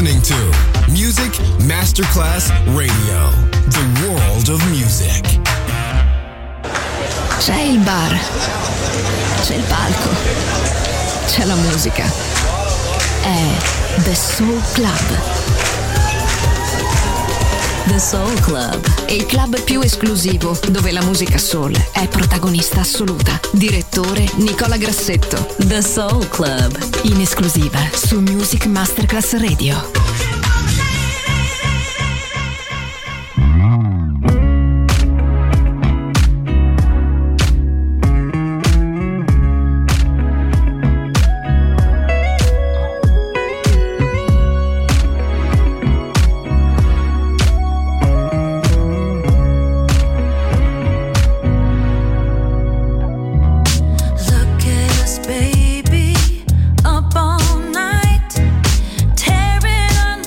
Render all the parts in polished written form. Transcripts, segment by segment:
listening to Music Masterclass Radio, the world of music. C'è il bar, c'è il palco, c'è la musica. È The Soul Club. The Soul Club, il club più esclusivo dove la musica soul è protagonista assoluta. Direttore Nicola Grassetto. The Soul Club, in esclusiva su Music Masterclass Radio. Baby, up all night, tearing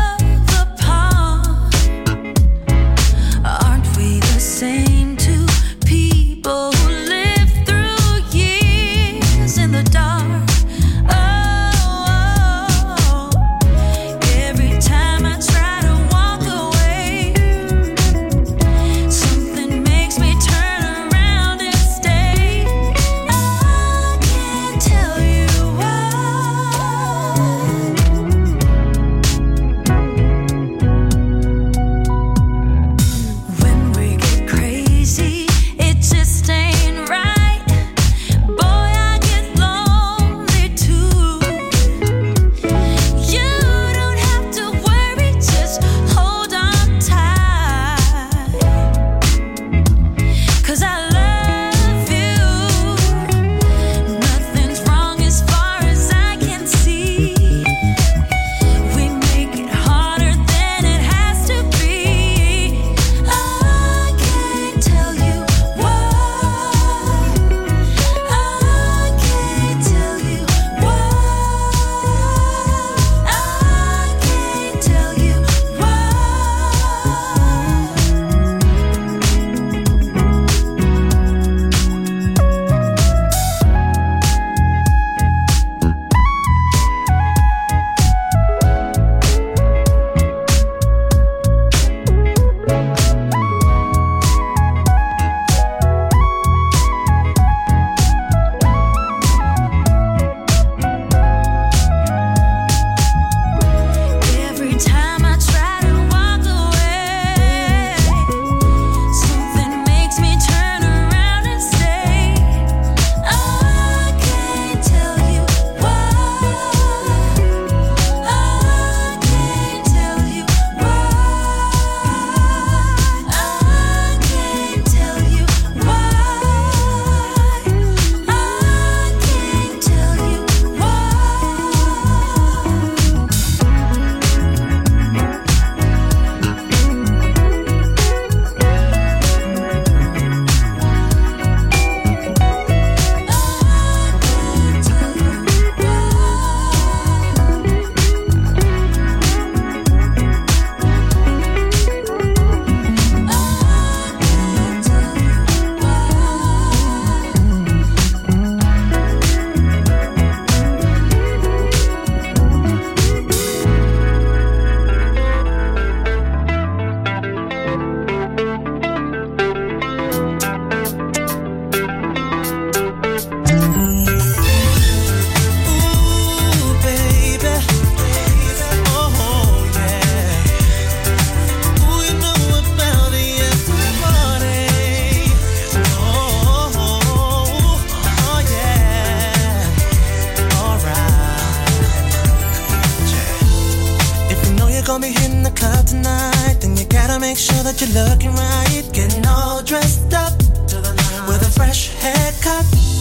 gonna be hitting the club tonight, then you gotta make sure that you're looking right. Getting all dressed up with a fresh haircut.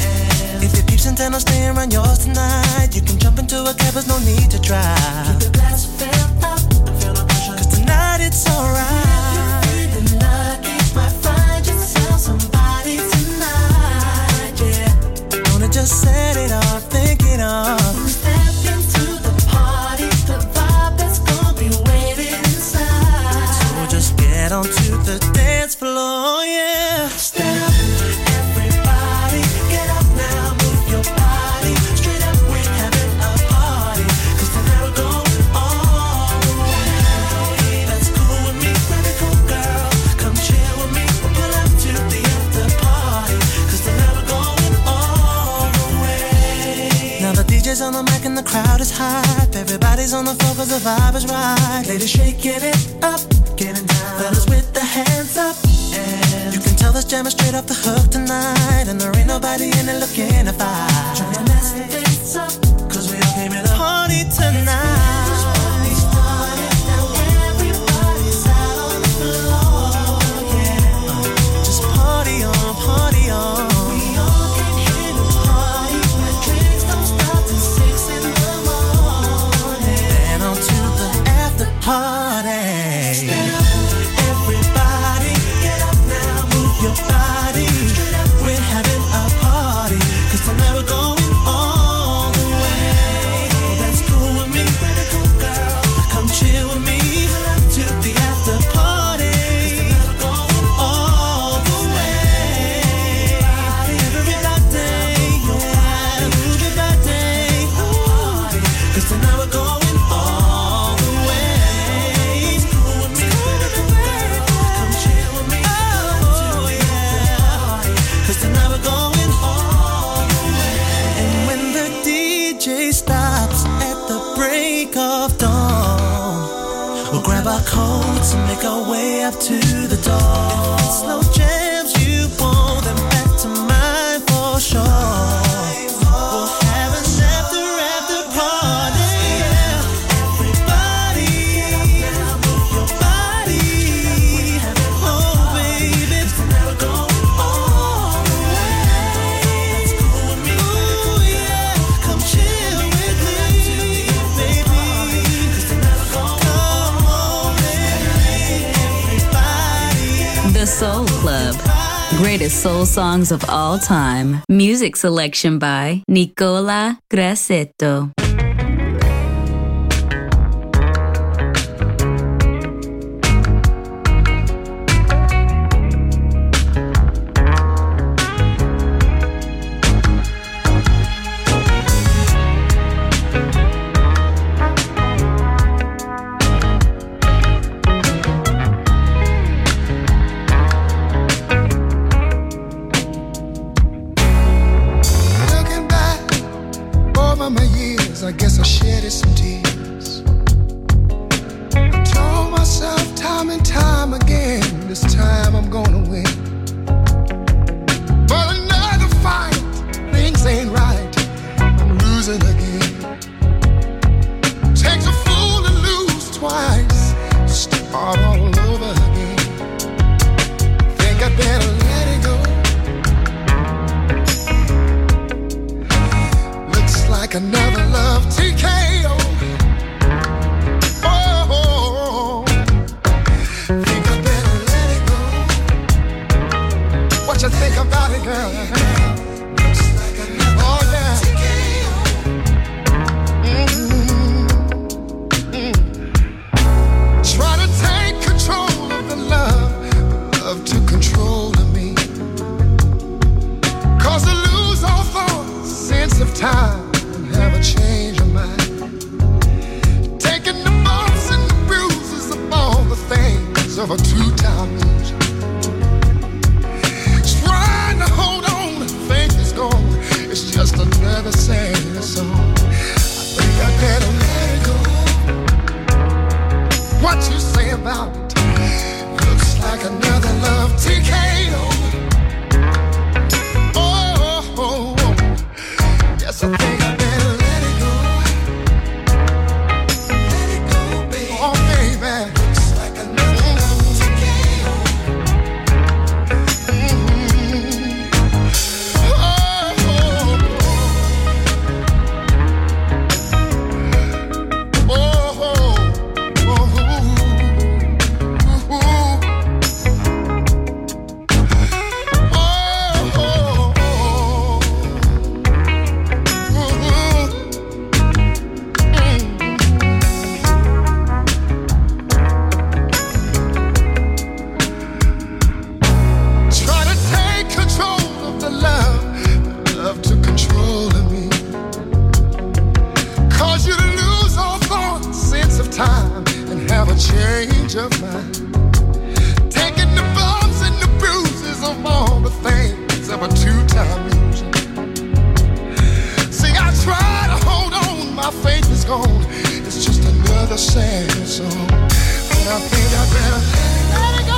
If your peeps intend on staying around yours tonight, you can jump into a cab, there's no need to drive. Keep the glass filled up, cause tonight it's alright. If you're feeling lucky, might find yourself somebody tonight, yeah. Wanna just set it off, think it off. Step into the party, the vibe that's gonna be waiting inside. So just get onto the dance floor, yeah. Stand up. All is hype. Everybody's on the floor 'cause the vibe is right. Ladies shaking it up, getting down. Fellas with the hands up. And you can tell this jam is straight off the hook tonight. And there ain't nobody in it looking to fight. Trying to mess things up, 'cause we all came here to party tonight. Party on. We all came here to party, where drinks don't stop till 6 in the morning. Then on to the after party. Stand up, everybody, get up now, move your body. We're having a party, 'cause tonight we're going all the way. Oh, that's cool with me, girl. Come chill with me to the after party. Grab our coats and make our way up to the door. If it's slow jams you want, then back to mine for sure. We'll have an after party. Everybody, move your body. Oh baby, we're going all the way. Ooh yeah, come chill with me, baby. The Soul Club. Greatest soul songs of all time. Music selection by Nicola Grassetto. I guess I shedded some tears. I told myself time and time again, this time I'm gonna win. But another fight, things ain't right, I'm losing again. Takes a fool to lose twice, start all over again. Think I better let it go. Looks like another love TKO. Oh, think I better let it go. What you think about it, girl? Looks like another love TKO. Try to take control of the love to control of me. Cause to lose all thought, sense of time, have a change of mind. Taking the bumps and the bruises of all the things of a two-time loser. Trying to hold on, faith is gone. It's just another sad song. I think I better let it go. What you say about it? Looks like another love TKO. Oh, yes, I think I better let it go. Let it go, baby. Oh, baby. Looks like another love TKO. Faith is it's just another sad song. But I think I better let it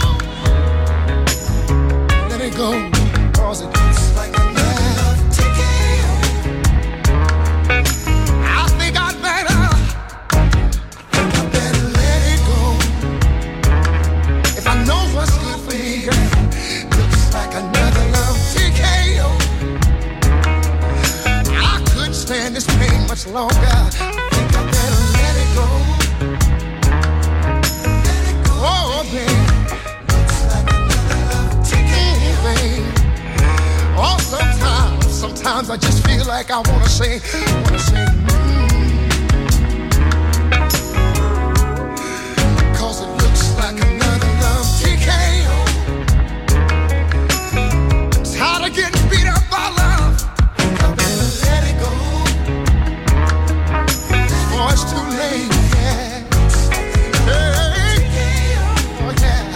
go. Let it go, cause it looks like another TKO. I think I better let it go. If I know what's good for me, girl, looks like another love TKO. I couldn't stand this pain much longer. I think I better let it go. Let it go. Oh, baby. Looks like another love TKO. Baby. Oh, sometimes I just feel like I wanna say, Cause it looks like another love TKO. I'm tired of getting beat up by love. I better let it go. Oh, it's too late, yeah. Hey, oh, yeah.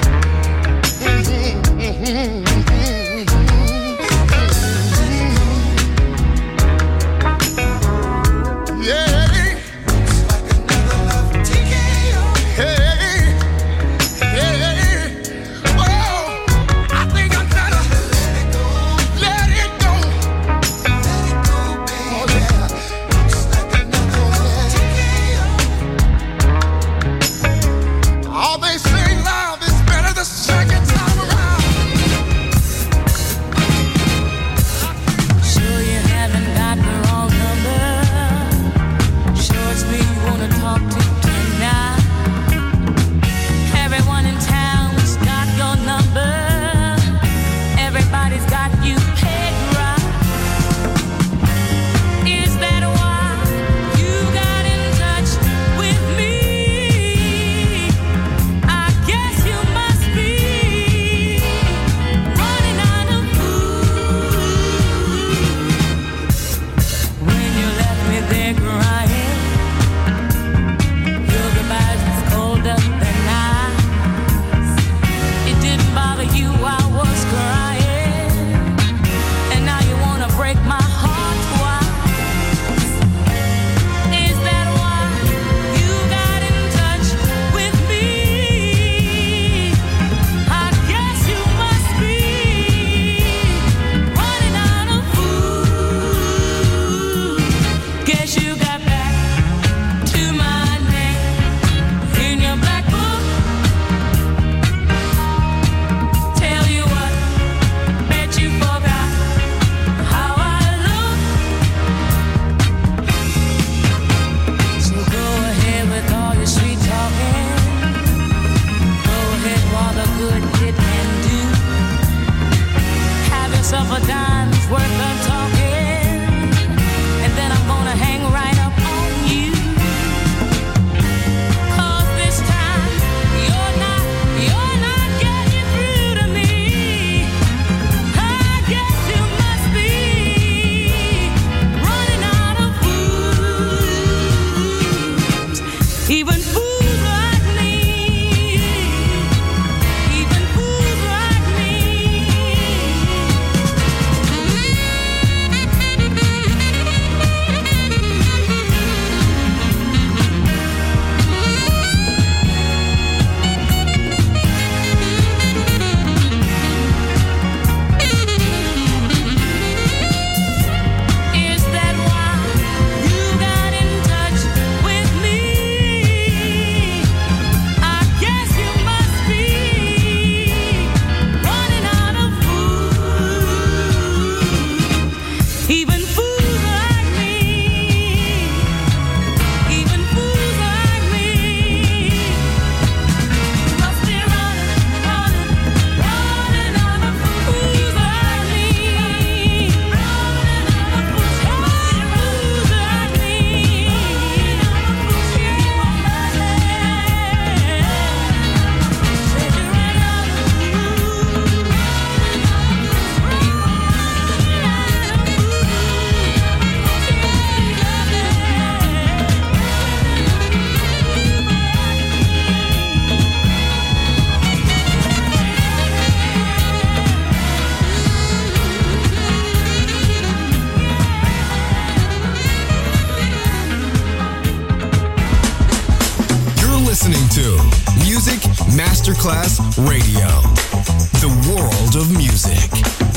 listening to Music Masterclass Radio, the world of music.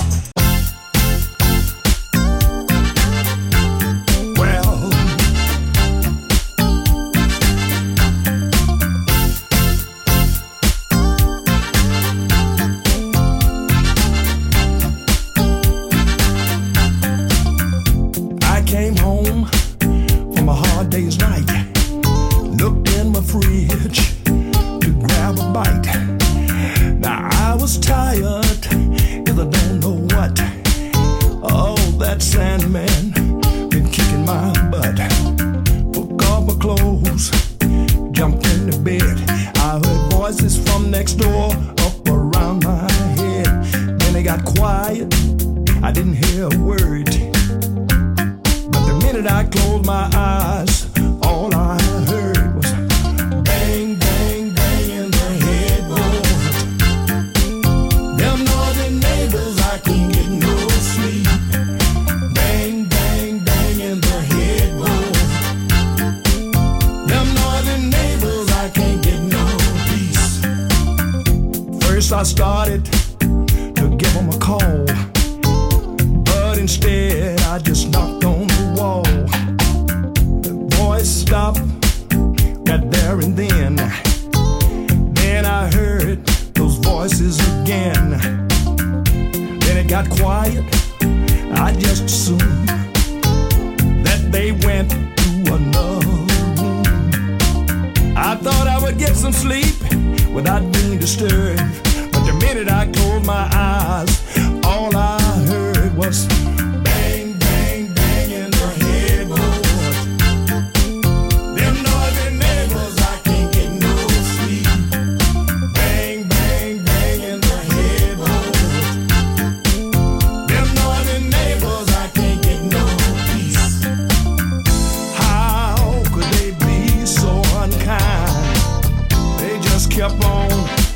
I started to give them a call, but instead I just knocked on the wall. The voice stopped right there and then. Then I heard those voices again. Then it got quiet. I just assumed that they went to another room. I thought I would get some sleep without being disturbed. The minute I closed my eyes, all I heard was bang, bang, bang in the headboard. Them noisy neighbors, I can't get no sleep. Bang, bang, bang in the headboard. Them noisy neighbors, I can't get no peace. How could they be so unkind? They just kept on.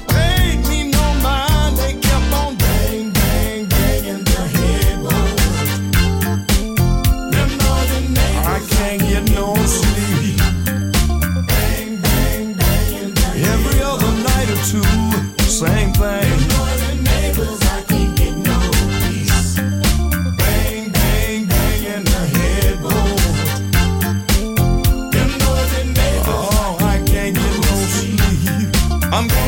Same thing. Neighbors, I can't get no peace. Bang, bang, bang in the headboard. Them noisy neighbors, oh, I can't get no sleep. I'm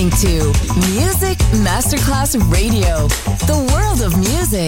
listening to Music Masterclass Radio, the world of music.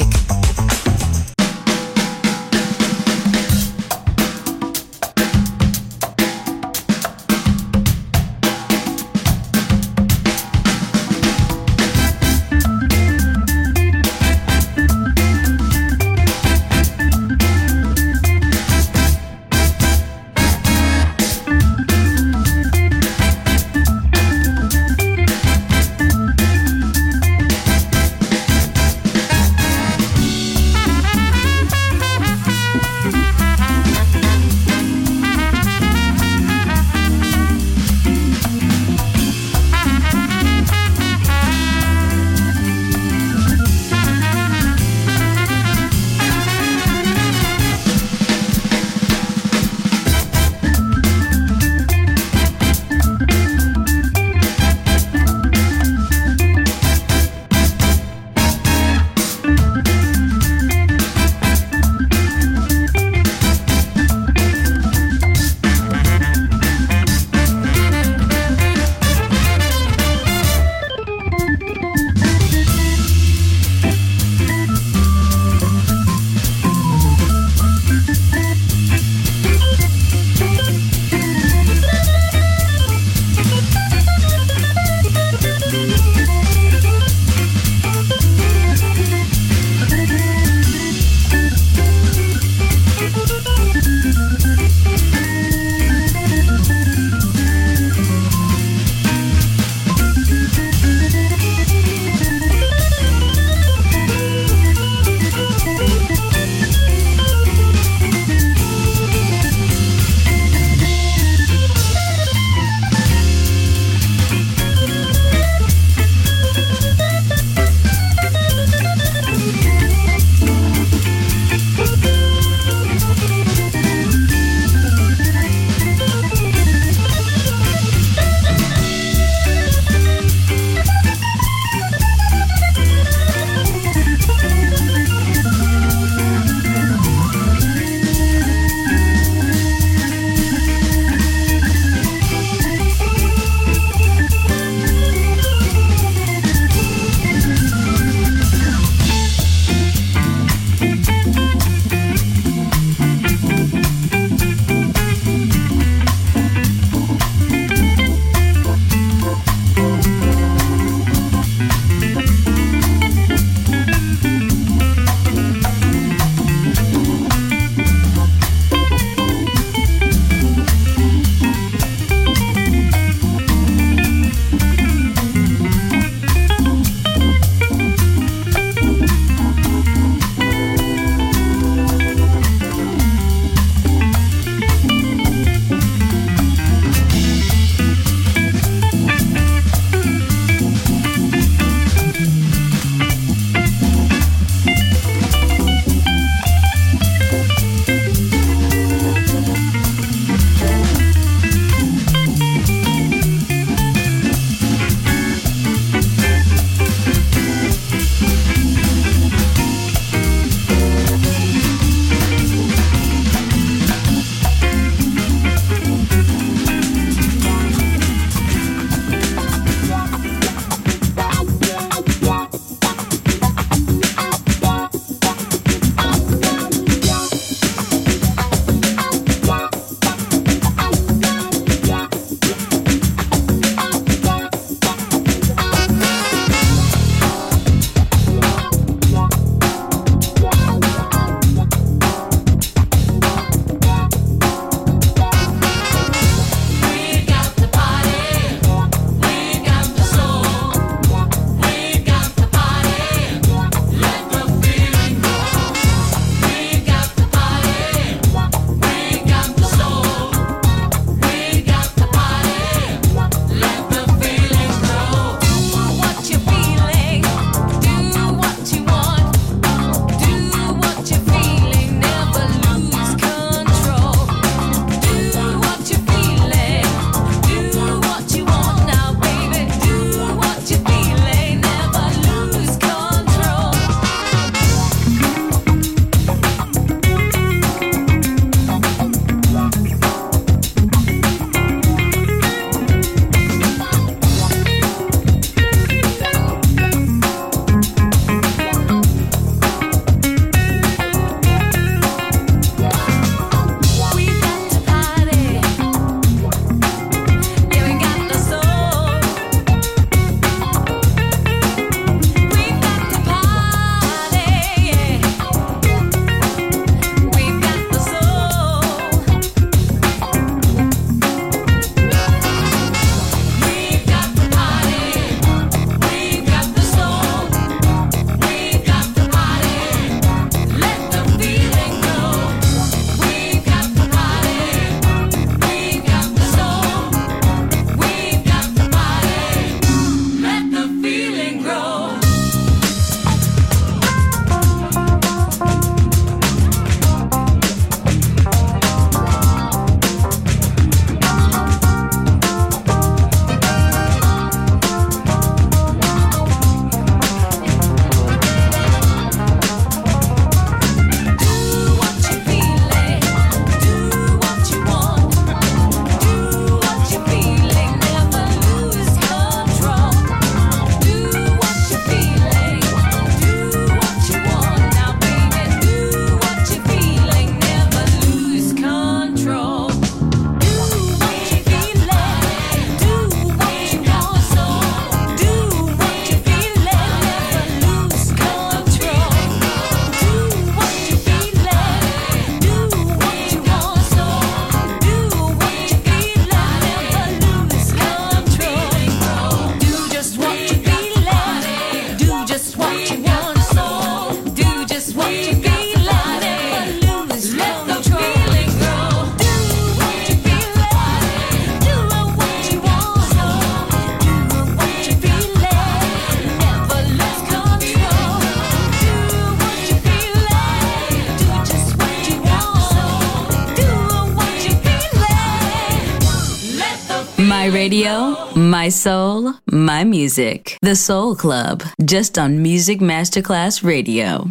radio, my soul, my music. The Soul Club, just on Music Masterclass Radio.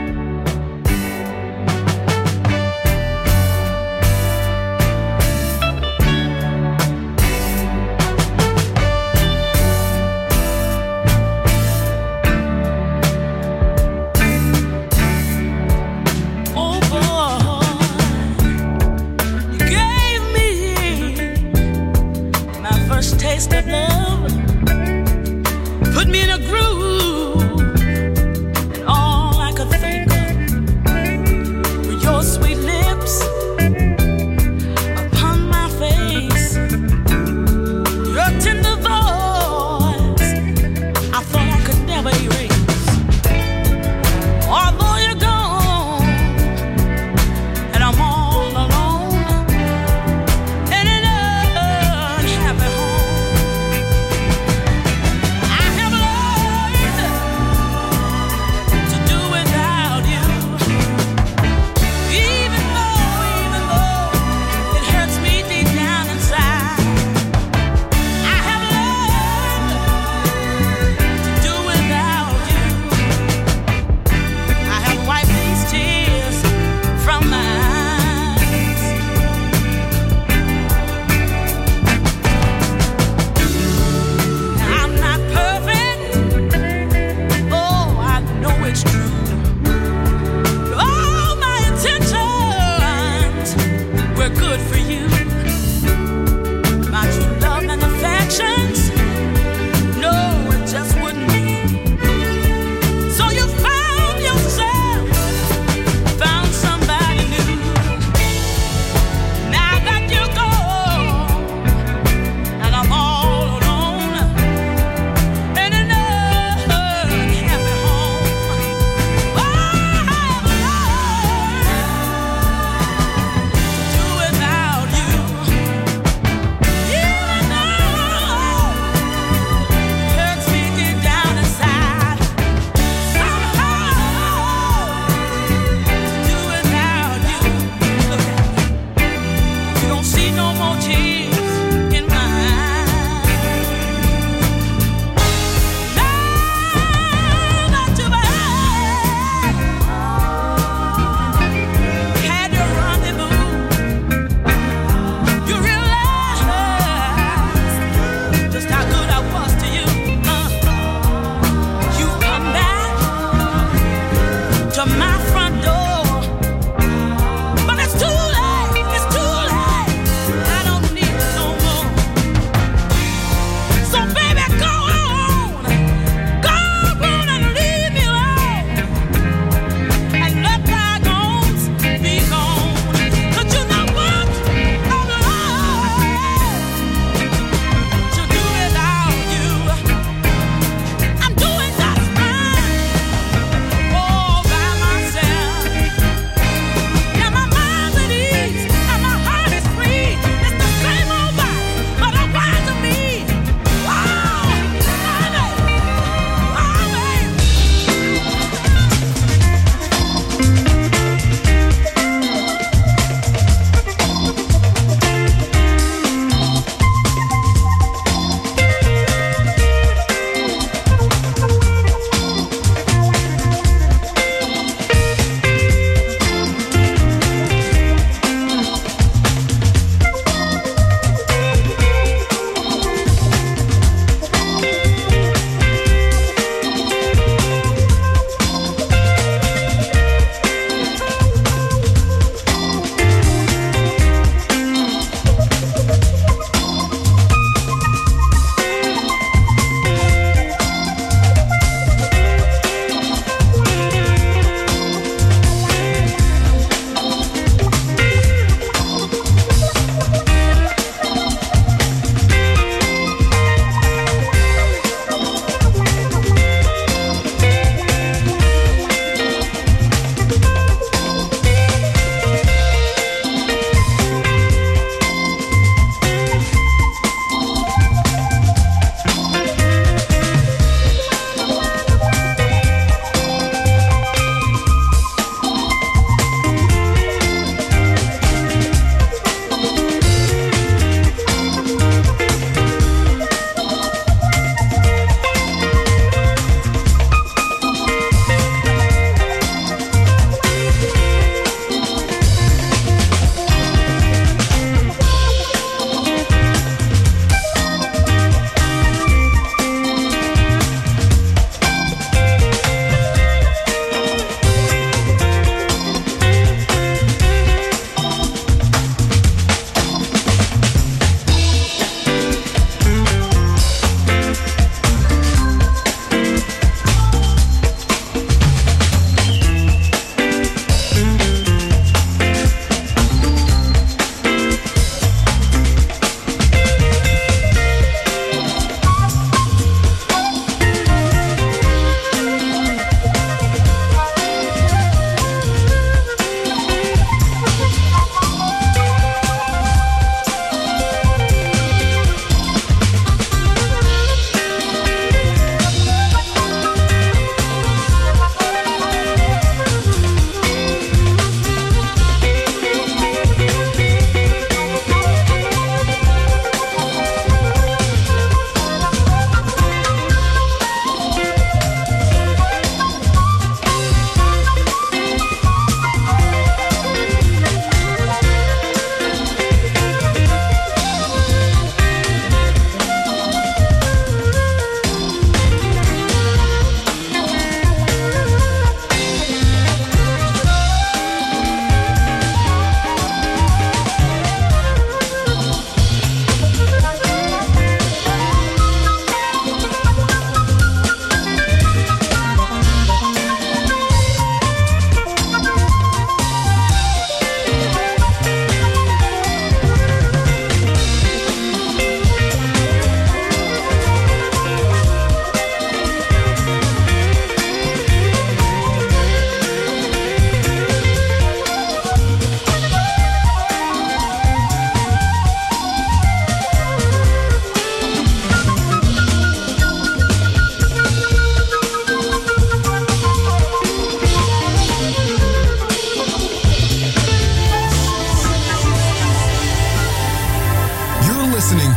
Taste of love, put me in a groove, and all I could think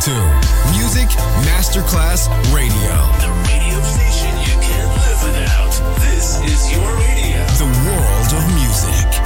to Music Masterclass Radio. The radio station you can't live without. This is your radio. The world of music.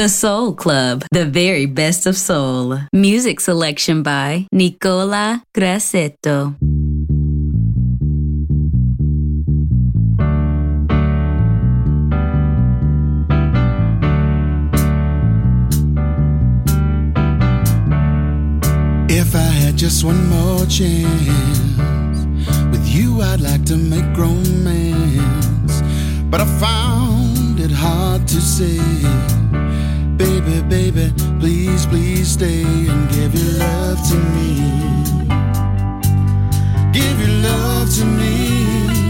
The Soul Club, the very best of soul. Music selection by Nicola Grassetto. If I had just one more chance, with you I'd like to make romance, but I found it hard to say. Baby, baby, please, please stay and give your love to me. Give your love to me.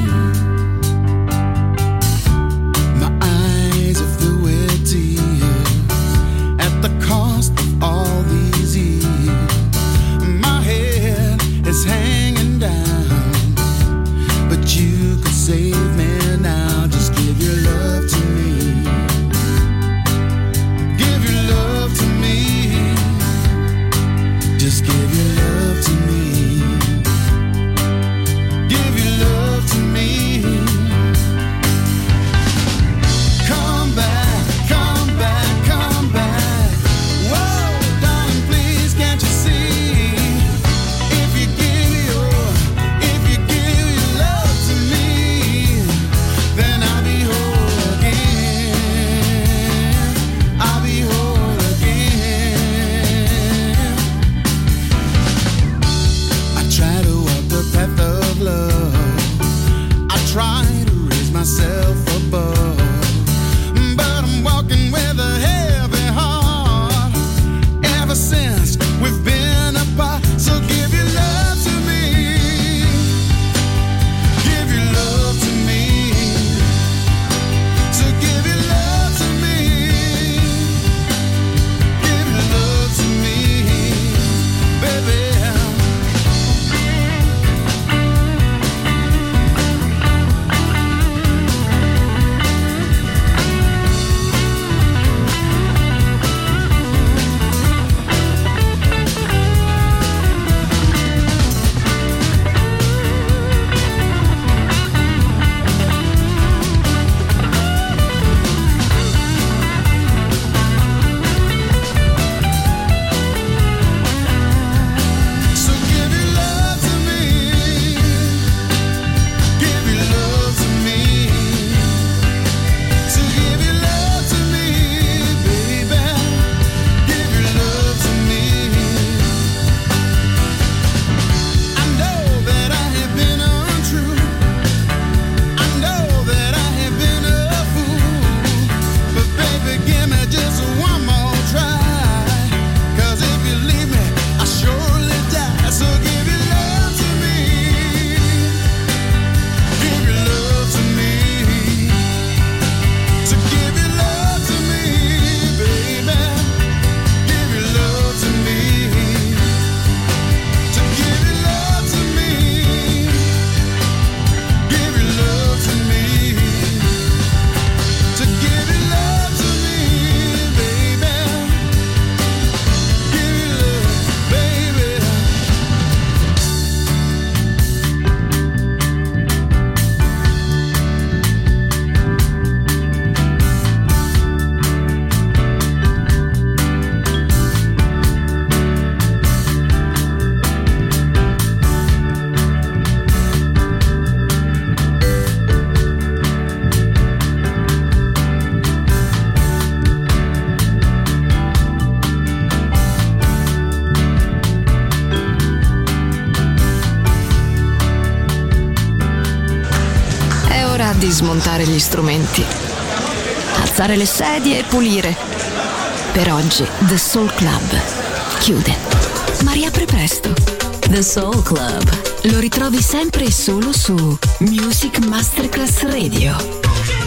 My eyes are filled with tears at the cost of all these years. My head is hanging down, but you could save me now. Just give your love to me. Give your love to me. Just give your love to me. Give your love to me. Come back, come back, come back. Whoa, darling, please, can't you see? If you give your love to me, then I'll be whole again. I'll be whole again. I try to walk the path of love. I try to raise myself above, but I'm walking with a heavy heart ever since we've been apart. So give your love to me. Give your love to me. So give your love to me. Give your love to me, baby. So give your love to me. Give your love to me. So give your love to me, baby. Give your love to me. I know that I have been untrue. I know that I have been a fool. But baby, give me just one more try. 'Cause if you leave me, I'll surely die. So give your love to me. Give your love to me. So give your love to me, baby. Give your love to me. So give your love to me. Give your love to me. So give your love to me, baby. Give your love, baby. È ora di smontare gli strumenti, alzare le sedie e pulire. Per oggi The Soul Club chiude, ma riapre presto. The Soul Club lo ritrovi sempre e solo su Music Masterclass Radio.